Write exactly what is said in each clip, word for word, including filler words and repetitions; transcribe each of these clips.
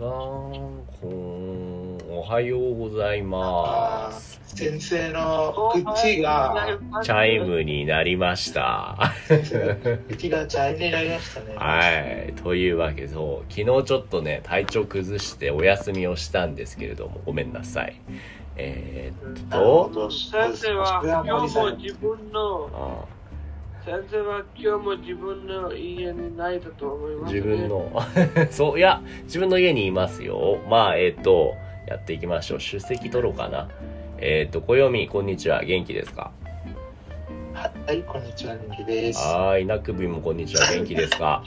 こんおはようございます。 先生の口がチャイムになりました。 口がチャイムになりましたね。 はい。というわけで、昨日ちょっとね、体調崩してお休みをしたんですけれども、ごめんなさい。えー、っと、 先生は今日も自分の、ああ先生は今日も自分の家にないだと思います、ね、 自分のそういや自分の家にいますよ。まあえっ、ー、とやっていきましょう。出席取ろうかな。えっ、ー、と暦こんにちは、元気ですか？ はいこんにちは、元気です。 はい、なくびもこんにちは、元気ですか？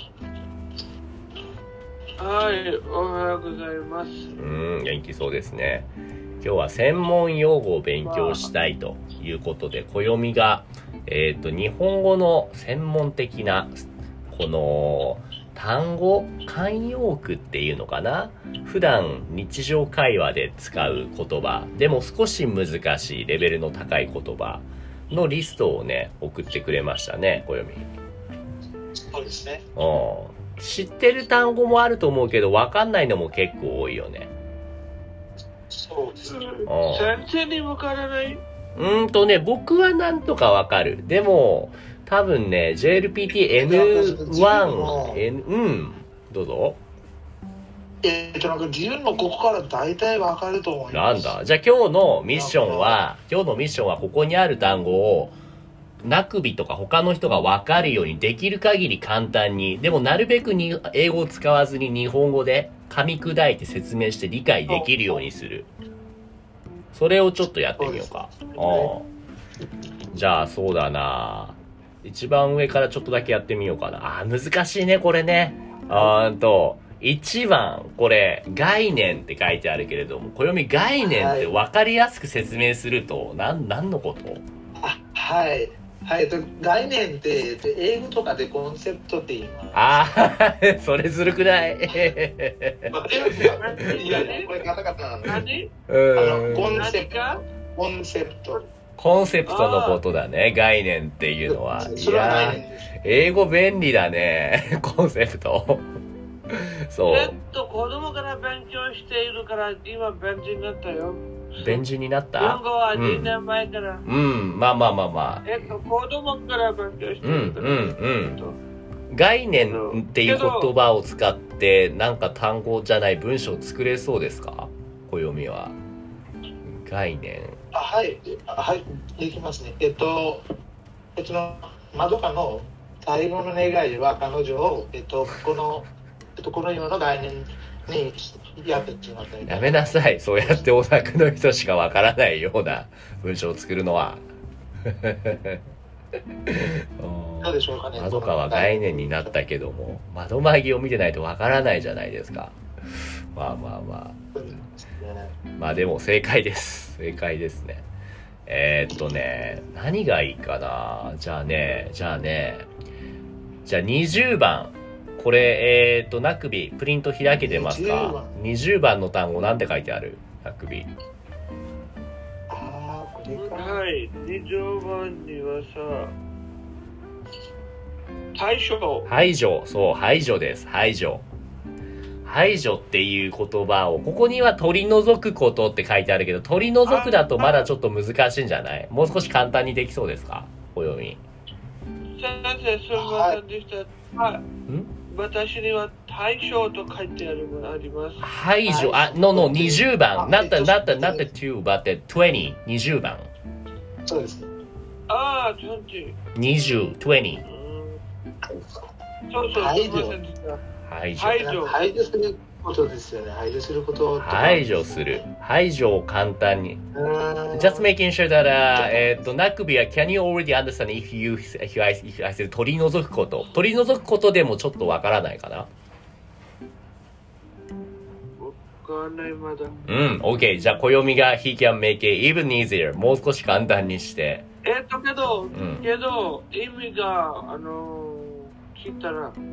はい、おはようございます。 うん、元気そうですね。今日は専門用語を勉強したいということで、暦がえっと、日本語の専門的な、この、単語、慣用句っていうのかな？普段日常会話で使う言葉、でも少し難しいレベルの高い言葉のリストをね、送ってくれましたね、暦。 そうですね。 うん。知ってる単語もあると思うけど、わかんないのも結構多いよね。 そうですね。 先生にわからない？ うーんとね、僕はなんとかわかる。でも、多分ね、ジェイエルピーティーエヌワン、N、うん、どうぞ。 えっと、なんか自分のここから大体わかると思います。 なんだ。じゃあ今日のミッションは、今日のミッションはここにある単語を、なくびとか他の人がわかるようにできる限り簡単に、でもなるべくに英語を使わずに日本語で噛み砕いて説明して理解できるようにする。それをちょっとやってみようか。う、ね、じゃあそうだな。一番上からちょっとだけやってみようかな。あー難しいねこれね。あーんと一番これ概念って書いてあるけれども、暦概念って分かりやすく説明すると何何のこと？ あはいはい、概念って英語とかでコンセプトって言います。 ああそれずるくない？ いやこれカタカタなんで。 何？ あのコンセプトコンセプトコンセプトのことだね、概念っていうのは。いや英語便利だねコンセプトそう。 えっと子供から勉強しているから今便利になったよ。 便利になった？ 日本語はにねんまえから。 うん、うん、まあまあまあまあ。 えっと子供から勉強しているから。 うんうんうん。概念っていう言葉を使ってなんか単語じゃない文章を作れそうですか？暦は。概念。 あはいはいできますね。えっとえっとまどかの最後の願いは彼女をえっとこのえっとこのような概念にやってしまったみたいな。 やめなさい。そうやってオタクの人しかわからないような文章を作るのは。 どうでしょうかね。 まどかは概念になったけども、窓まぎを見てないとわからないじゃないですか。まあまあまあ。まあでも正解です。正解ですね。えー、っとね、何がいいかな。じゃあね、じゃあね、じゃあにじゅうばん。これ、えー、っと、なくび、プリント開けてますか？にじゅうばんの単語なんて書いてある？なくび。 あー、これか。 はい、にじゅうばんにはさ、排除。 排除、そう、排除です。排除。排除っていう言葉を、ここには取り除くことって書いてあるけど、取り除くだとまだちょっと難しいんじゃない？もう少し簡単にできそうですか？暦。 先生、すみませんでした。はい。ん？私には対象と書いてあるものあります。 排除、あ、no, no, にじゅうばん。not the, not the, not the two, but the twenty. にじゅうばん。 そうですね。 ああ、にじゅう。 にじゅう、にじゅう。 そうそう、すみませんでした。 排除。 排除。 排除することですよね。排除すること。 排除する。排除を簡単に。Just making sure that, uh, えっと、なくびは、can you already understand if you, if I, if I said 取り除くこと。取り除くことでもちょっとわからないかな？ わかんないまだ。 うん、OK。じゃあ、暦が he can make it even easier。もう少し簡単にして。 えっと、けど、 うん、 けど、意味が、あの、聞いたら、 うん。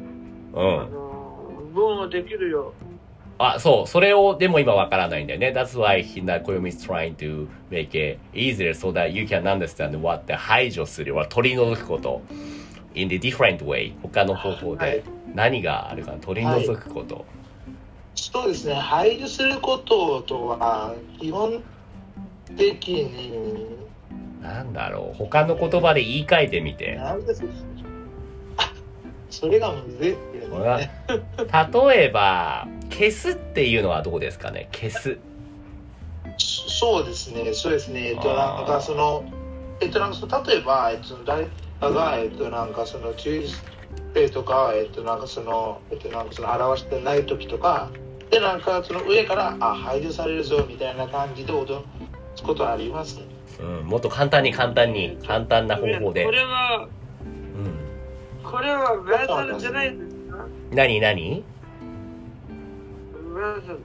あの、文はできるよ。 あ、そう。それを、でも今わからないんだよね。That's why Hinakoyomi is trying to make it easier so that you can understand what the 排除する、取り除くこと。in the different way。他の方法で。何があるかな？取り除くこと。 そうですね、配慮することとは、基本的に、 なんだろう、他の言葉で言い換えてみて。 なんですか、あ、それがむずいっていうね。 例えば、消すっていうのはどうですかね、消す。 そうですね、そうですね、えっと、なんかその、えっと、なんかその例えば、えっと、誰かが、えっと、なんかその、注意とか、えっと、なんかその、えっと、なんかその、表してない時とか、で、なんかその上から、あ、排除されるぞ、みたいな感じで脅すことありますね。 うん、もっと簡単に簡単に、簡単な方法で。 これは、 うん、 これはベーザルじゃないですか？ 何何？ ベーザル。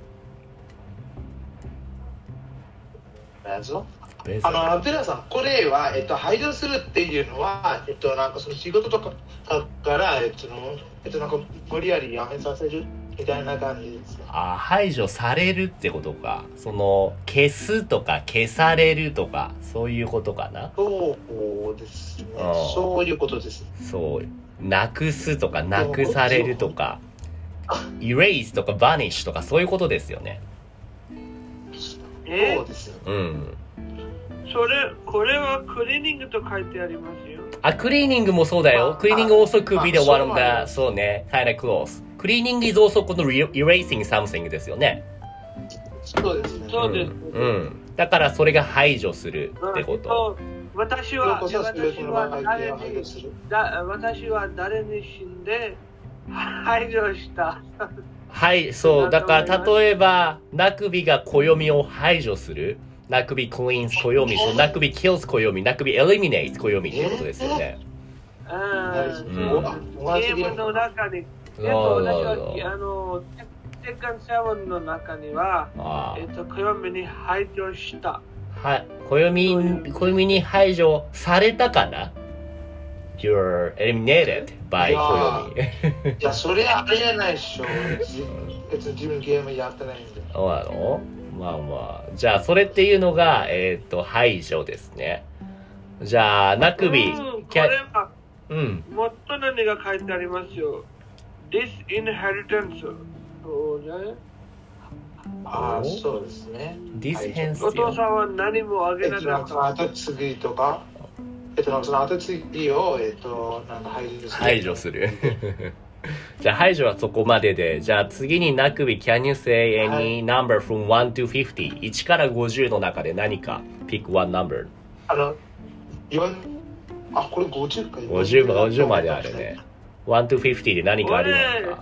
ベーザル？ ベーザル。 あの、テラさん、これは、えっと、排除するっていうのは、えっと、なんかその仕事とかから、えっと、えっと、なんか無理やり辞めさせるみたいな感じですね。 あ、排除されるってことか。その、消すとか消されるとか、そういうことかな。 そうですね。そういうことです。 そう。なくすとか、なくされるとか、erase とか vanish とか、そういうことですよね。 えそうですよ。 うん。 それ、これはクリーニングと書いてありますよ。 あ、クリーニングもそうだよ。クリーニング also could be the まあ one of the, そうね、kind of close. クリーニング is also この erasing something ですよね。 そうですね。 そうです。 うん。うん、だからそれが排除するってこと。 私は、私は誰に、だ私は誰に死んで排除した。 はい、そう。だから例えば、なくびが暦を排除する。なくび cleans 暦、そうなくび kills 暦、なくび eliminates 暦ってことですよね。 ああ、 うん、 ゲームの中に、えっと、私は、あの、テッカンセブンの中には、えっと、暦に排除した。 はい、暦、暦に排除されたかな？ You're eliminated by 暦。 いや、それはありえないっしょ。別に自分ゲームやってないんで。 そうなの？まあまあ。じゃあ、それっていうのが、えっと、排除ですね。じゃあ、なくび。 うん、これは、 うん。 もっと何が書いてありますよ。disinheritance。そうね。 ああ、そうですね。 disinheritance。 お父さんは何もあげなかった。 後継ぎとか、えっと、その後継ぎを、えっと、なんか排除する。 排除する。じゃあ排除はそこまでで、じゃあ次になくび Can you say any number from one to fifty? いちからごじゅうの中で何か pick one number。 あの、よん、あ、これごじゅうか。 ごじゅう、ごじゅうまであるね。one to fifty で何かありますか？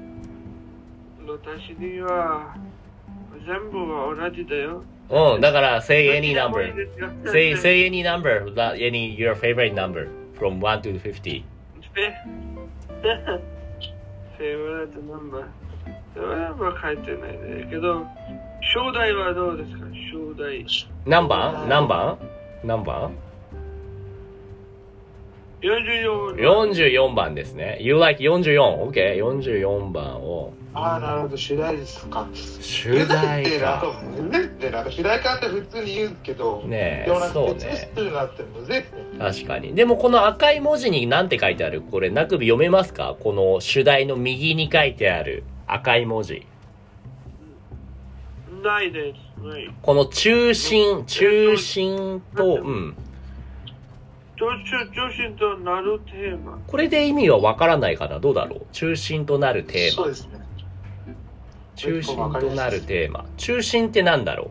私には全部は同じだよ。 うん、だから say any number. say, say any number, any your favorite number from one to fifty. favorite number。それは書いてないね。けど、正代はどうですか？正代。 何番？何番？何番？ よんじゅうよん。 よんじゅうよんばんですね。You like よんじゅうよん。OK。よんじゅうよんばんを。 ああ、なるほど。主題ですか。 主題か。 主題かって普通に言うけど、 ねえ、そうね。確かに。でもこの赤い文字に何て書いてある？これ、なくび読めますか？この主題の右に書いてある赤い文字。 ないです。ない。 この中心、中心と、うん。 中心となるテーマ。 これで意味はわからないかな？どうだろう？中心となるテーマ。 そうですね。 中心となるテーマ。中心ってなんだろ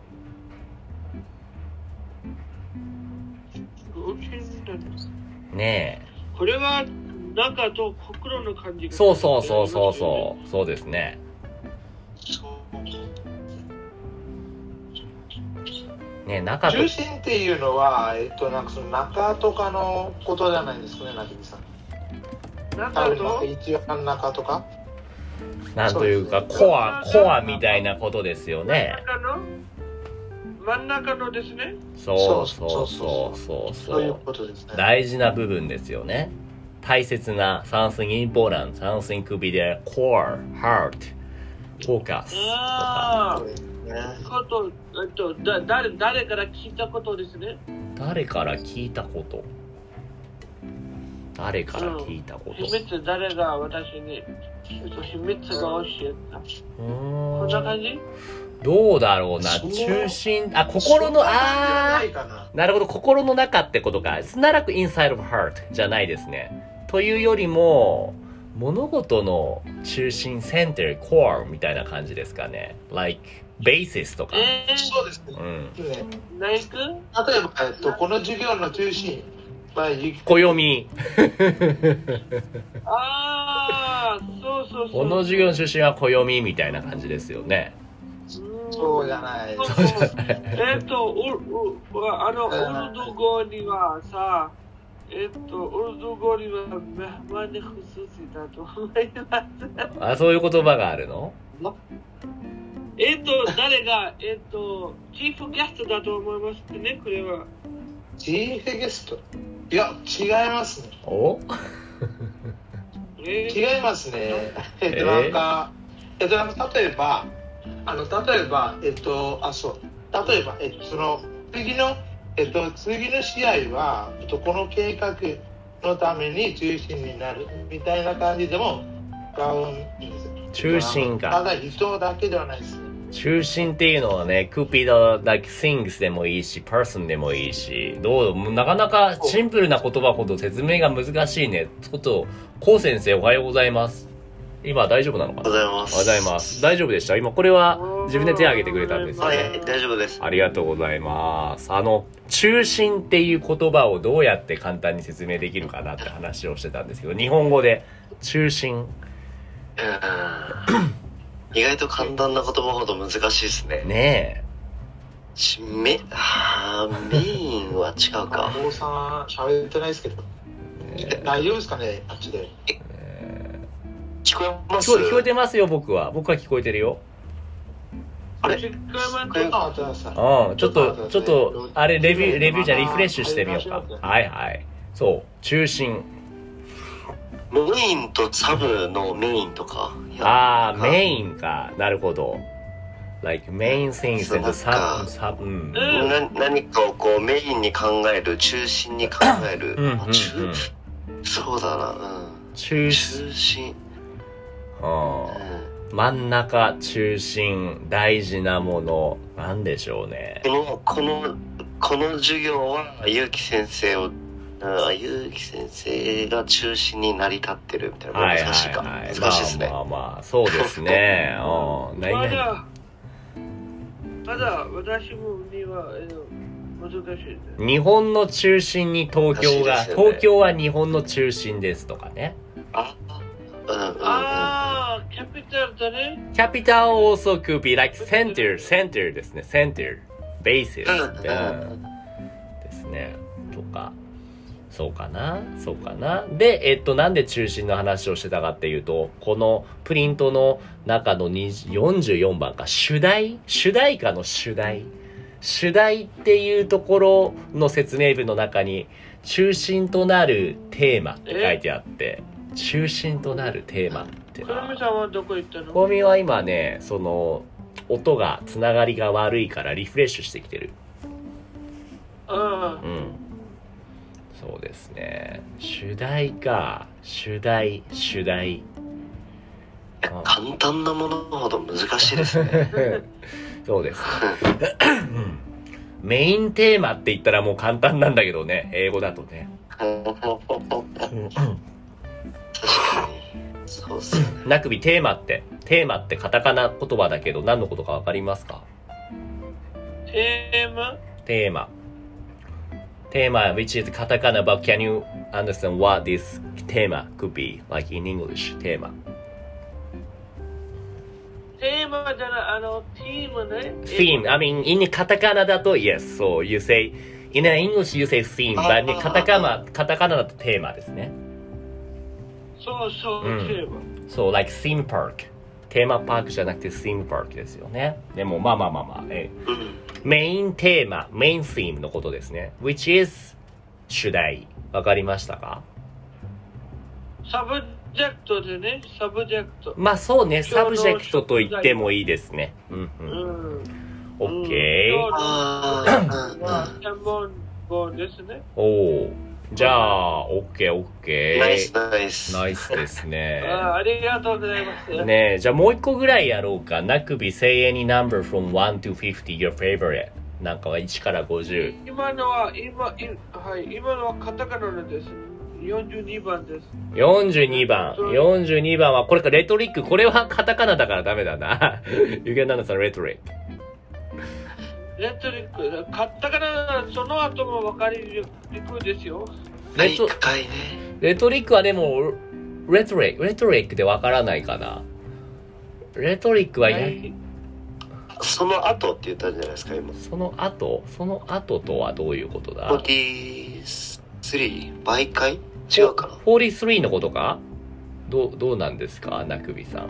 う？ねえ。 これは中と心の感じが。 そうそうそうそうそう。そうですね。ね、中と中心っていうのは、えっと、なんかその中とかのことじゃないですかね、なぎみさん。 中と一番中とかなんというか、コア、コアみたいなことですよね。 真ん中の真ん中のですね。 そうそうそうそうそういうことですね。 大事な部分ですよね。大切な something important, something could be their core, heart, focus とか。 こと、えっと、だ誰誰から聞いたことですね。 誰から聞いたこと？ 誰から聞いたこと、 うん、秘密誰が私に秘密が教えた。こんな感じ？ どうだろうな。中心、あ、心の、あー、なるほど、心の中ってことか。It's not like inside of heart じゃないですね。というよりも、物事の中心、center、core みたいな感じですかね。like basis とか。 えー、そうですね。 うん。 例えば、えっと、この授業の中心。 暦。 ああ、そうそうそう。 この授業の中心は暦みたいな感じですよね。 そうじゃない。 そうじゃない。 えっと、あの、ウルド語にはさ、えっと、ウルド語にはメハマネフスシだと思います。 あ、そういう言葉があるの？ えっと、誰が、えっと、チーフゲストだと思いますね、これは。 チーフゲスト？いや、違いますね。 お違いますね。えっと、なんか、えっと、例えば、あの、例えば、えっと、あ、そう。例えば、えっと、その、次の、えっと、次の試合は、えっと、この計画のために中心になるみたいな感じでも使うんですよ。 中心か。 ただ、人だけではないですね。 中心っていうのはね、could be the like things でもいいし、person でもいいし、どう、なかなかシンプルな言葉ほど説明が難しいね。ちょっと、コウ先生おはようございます。今大丈夫なのかな？ おはようございます。 おはようございます。大丈夫でした？今これは自分で手を挙げてくれたんですよね。 はい、大丈夫です。 ありがとうございます。あの、中心っていう言葉をどうやって簡単に説明できるかなって話をしてたんですけど、日本語で中心。 うん意外と簡単な言葉ほど難しいですね。 ねえ。メ、はメインは違うか。 お父さん喋ってないですけど。大丈夫ですかね、あっちで。 聞こえます？ 聞こえてますよ、僕は。僕は聞こえてるよ。 あれ？ ちょっと待ってください。 うん、ちょっと、ちょっと、あれ、レビュー、レビューじゃリフレッシュしてみようか。はいはい。そう、中心。 メインとサブのメインとか。 ああ、メインか。なるほど。like main things and sub, sub, うん。 な何かをこうメインに考える、中心に考える。 うんうんうん、 そうだな。うん、 中心。 はあ、うん、真ん中、中心、大事なもの、なんでしょうね。 この、この、この授業は、ゆうき先生を、ゆうき先生が中心に成り立ってるみたいな。難しいか。はいはいはい、難しいですね。 まあまあまあ、そうですね。うん、 まだ、まだ私もには、難しいです。 日本の中心に東京が、ね、東京は日本の中心ですとかね。 あ、うんうんうん、 あー、キャピタルだね。 キャピタル also could be like center, center ですね。center, basis、うんうん、ですね。とか。そうかなそうかなで、えっと、なんで中心の話をしてたかっていうと、このプリントの中のよんじゅうよんばんか、主題主題歌の主題主題っていうところの説明文の中に、中心となるテーマって書いてあって、中心となるテーマってな。 コミさんはどこ行ったの？ コミは今ね、その、音が、つながりが悪いからリフレッシュしてきてる。 ああ。 うん。そうですね。主題か。主題、主題。 簡単なものほど難しいですね。 そうです、ねメインテーマって言ったらもう簡単なんだけどね。英語だとね。 確かに。そうっすね。 なくびテーマって、テーマってカタカナ言葉だけど何のことかわかりますか？ テーマ？ テーマ。テーマ which is katakana, but can you understand what this テーマ could be like in English? テーマ。 テーマじゃない、あの、ティームね。 theme. I mean, in カタカナだと yes. So you say, in English you say theme, but in カタカナ、カタカナだとテーマですね。 そうそう、 うん、 テーマ。 そう、like theme park. テーマパークじゃなくて theme park ですよね。でも、まあまあまあまあ、えメインテーマ、メイン theme のことですね。which is 主題。わかりましたか？ サブジェクトでね、サブジェクト。 まあそうね、サブジェクトと言ってもいいですね。うんうん。オッケー。 ああ、専門語ですね。 おお。 じゃあ、オッケーオッケー。 ナイスナイス。 ナイスですね。 あありがとうございます。 ねえ、じゃあもう一個ぐらいやろうか。なくび say any number from one to fifty your favorite。なんかはいちからごじゅう。 今のは、今、いはい、今のはカタカナです。よんじゅうにばんです。 よんじゅうにばん。よんじゅうにばんは、これか、レトリック。これはカタカナだからダメだな。You can understand rhetoric。 レトリック、カタカナ、その後も分かりにくいですよ。 レト深いね。 レトリックはでも、レトリック、レトリックでわからないかな。レトリックはや、はい、 その後って言ったんじゃないですか、今。 その後その後とはどういうことだ？ よんじゅうさん 倍回違うかな？ よんじゅうさん のことか？どう、どうなんですか、なくびさん。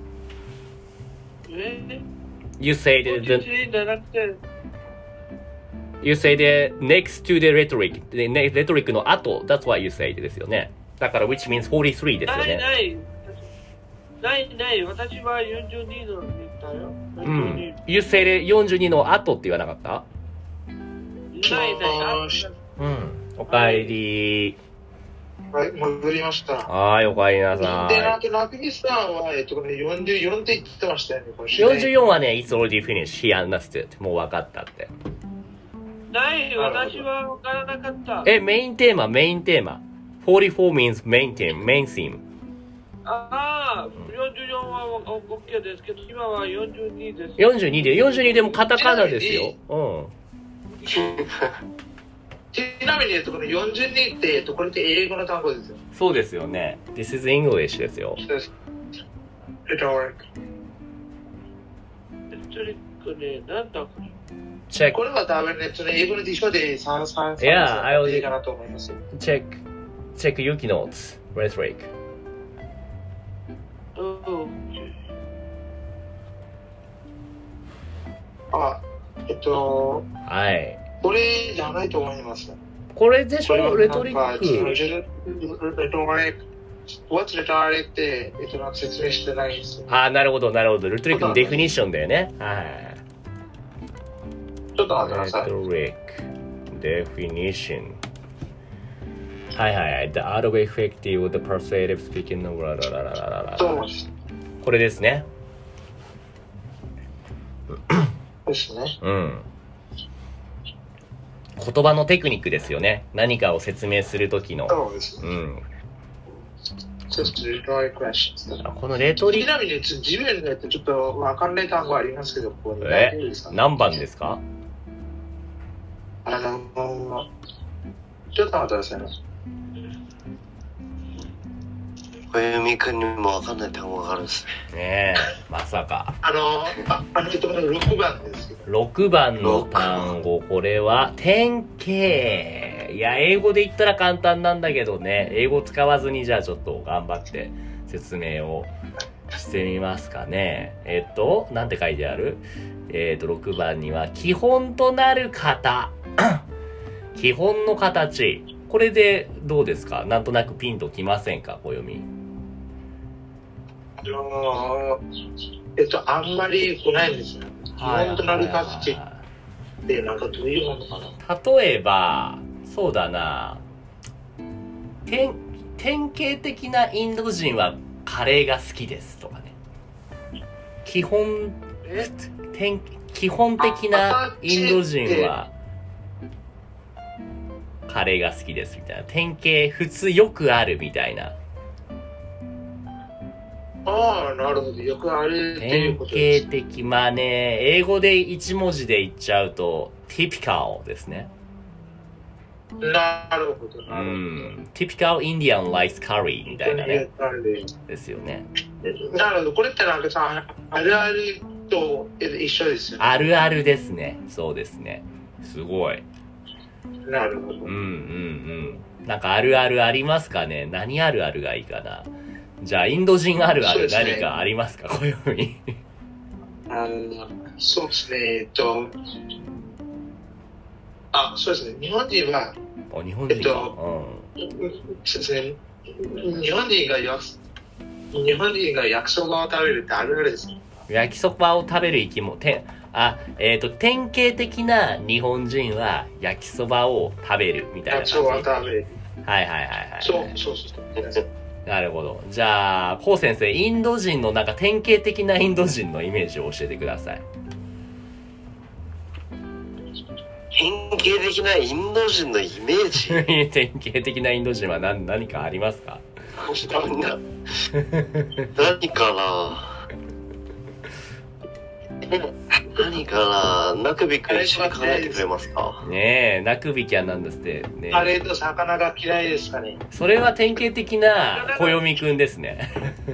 え You say the, the You say the next to the rhetoric. The rhetoric の後、that's what you say ですよね。だから which means よんじゅうさんですよね。 ないない。ないない。私はよんじゅうにの言ったよ。 うん。You say the よんじゅうにの後って言わなかった？ ないない。 うん。おかえり。 はい、戻りました。 はい、おかえりなさい。 で、なんと、なくみさんは、えっと、ね、よんじゅうよんって言ってましたよね、 よんじゅうよんはね、it's already finished. He understood. もう分かったって。 ない、私は分からなかった。 え、メインテーマ、メインテーマ。よんじゅうよん means main theme, main theme。 ああ、よんじゅうよんは OK ですけど、今はよんじゅうにです。 よんじゅうにで、よんじゅうにでもカタカナですよ。うん。 ちなみに、えっと、このよんじゅうにって、えっと、これって英語の単語ですよ。 そうですよね。This is English ですよ。 レトリック。レトリックね、なんだこれ。 チェック。これは多分ね、その英語の辞書でさん、さん、さん、 Yeah, I will いいかなと思います。 チェック。チェック、Yuki notes. Rhetoric. あ、えっと、 はい。 これじゃないと思います。 これでしょ、レトリック。 レトリック。What's rhetoric って、えっと、説明してないんですよ。 ああ、なるほど、なるほど。レトリックのデフィニッションだよね。はい。 ちょっと待ってください。 レトリック、デフィニッション。はいはいはい。The art of effective, the persuasive speaking of ララララララ。 そうです。 これですね。 ですね。 うん。言葉のテクニックですよね。何かを説明するときの。 そうですね。うん。このレトリック。ちなみに自分でちょっとわかんない単語ありますけど、ここにえ何番ですか？ あの、ちょっと待ってくださいね。 小弓くんにもわかんない単語があるんですね。 ねえ、まさか。 あの、あ、あのちょっとろくばんですけど。 ろくばんの単語、これは、典型。いや、英語で言ったら簡単なんだけどね、英語使わずにじゃあちょっと頑張って説明をしてみますかね。えっと、なんて書いてある？えっと、ろくばんには、基本となる型。基本の形。これでどうですか？なんとなくピンときませんか？小読み。 あのえっと、あんまり来ないんですよ。基本となる形ってなんかどういうものかな。 例えば、そうだな。典、典型的なインド人はカレーが好きですとかね。基本、典基本的なインド人はカレーが好きですみたいな。典型、普通よくあるみたいな。 ああ、なるほど。よくあるっていうことです。 典型的。まあね、英語で一文字で言っちゃうと、typical ですね。 なるほど。 うん。typical Indian rice curry みたいなね。ですよね。 なるほど。これってなんかさ、あるあると一緒ですよね。 あるあるですね。そうですね。すごい。 なるほど。うんうんうん。なんかあるあるありますかね？何あるあるがいいかな？じゃあ、インド人あるある何かありますか？こういうふうに。 あの、そうですね。えっと、あ、そうですね。日本人は、 あ、日本人か。えっと、うん、そうですね。日本人が焼日本人が焼きそばを食べるってあるあるですね。 焼きそばを食べる生き物、てあ、えっと、典型的な日本人は焼きそばを食べるみたいな感じ。 焼きそばを食べる。 はいはいはいはい。 そう、そうそう。 なるほど。じゃあ、こう先生、インド人のなんか典型的なインド人のイメージを教えてください。 典型的なインド人のイメージ典型的なインド人は何何かありますか？ 何かな何かなナクビ君一緒に考えてくれますか？ ねえ、ナクビキャンなんですってね。 カレーと魚が嫌いですかね。 それは典型的な暦くんですね。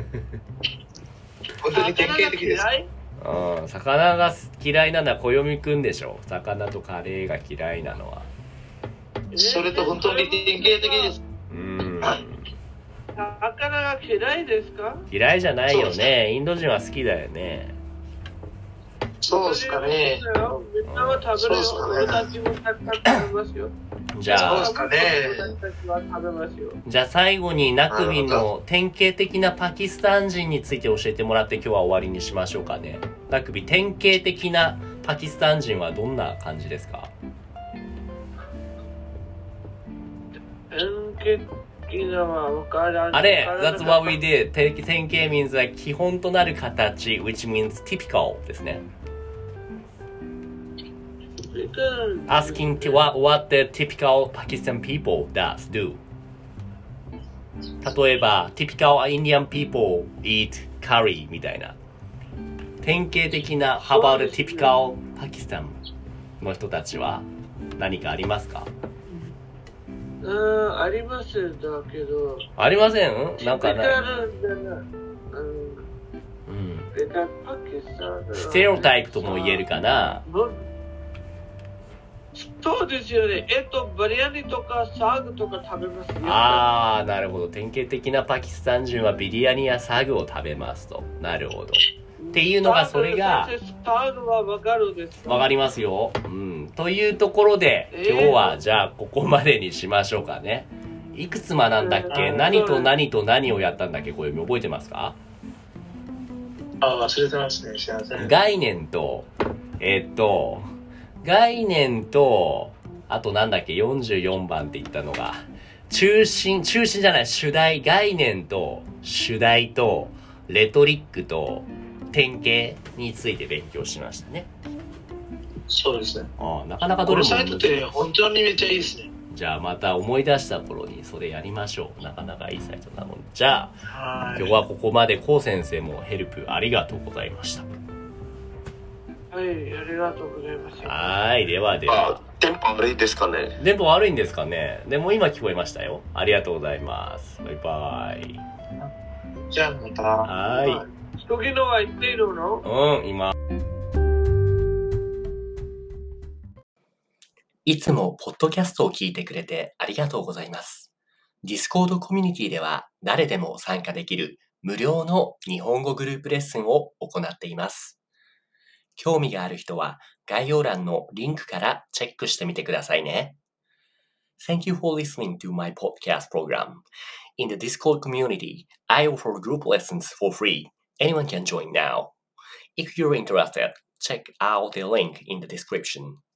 本当に典型的です。 うん、魚が嫌いなのは暦くんでしょ。魚とカレーが嫌いなのは。 それと本当に典型的です。 うん。 魚が嫌いですか？ 嫌いじゃないよね。インド人は好きだよね。 そうですかね。 みんなは食べるよ。俺たちもたくさん食べますよ。 じゃあ、じゃあ最後にナクビの典型的なパキスタン人について教えてもらって今日は終わりにしましょうかね。ナクビ、典型的なパキスタン人はどんな感じですか？ 典型的なは分からん。 あれ、that's what we did. 典型 means は基本となる形 which means typical ですね。Asking to what, what the typical Pakistan people does do. 例えば、typical Indian people eat curry みたいな。典型的な How about the typical Pakistan の人たちは何かありますか？ うん、ありますだけど。 ありません？なんかない。うん。ステレオタイプとも言えるかな。 そうですよね。えっと、バリアニとかサーグとか食べますよ。 ああ、なるほど。典型的なパキスタン人はビリヤニやサグを食べますと。なるほど。っていうのが、それが、 サグはわかるですか？ わかりますよ。うん。というところで、今日は、じゃあ、ここまでにしましょうかね。いくつ学んだっけ？何と何と何をやったんだっけ？これ覚えてますか？ あ、忘れてますね。すいません。 概念と、えー、っと、概念と、あとなんだっけ、よんじゅうよんばんって言ったのが、中心、中心じゃない、主題、概念と、主題と、レトリックと、典型について勉強しましたね。 そうですね。 ああ、なかなかどれも。 このサイトって本当にめっちゃいいですね。 じゃあまた思い出した頃にそれやりましょう。なかなかいいサイトなので。じゃあ、今日はここまでコウ先生もヘルプありがとうございました。 はい、ありがとうございました。 はい、ではでは。 電波悪いですかね？ 電波悪いんですかね？でも今聞こえましたよ。ありがとうございます。バイバイ。 じゃあまた。 はい。 時のは言っているの？ うん、今。いつもポッドキャストを聞いてくれてありがとうございます。Discord コミュニティでは誰でも参加できる無料の日本語グループレッスンを行っています。興味がある人は概要欄のリンクからチェックしてみてくださいね。Thank you for listening to my podcast program. In the Discord community, I offer group lessons for free. Anyone can join now. If you're interested, check out the link in the description.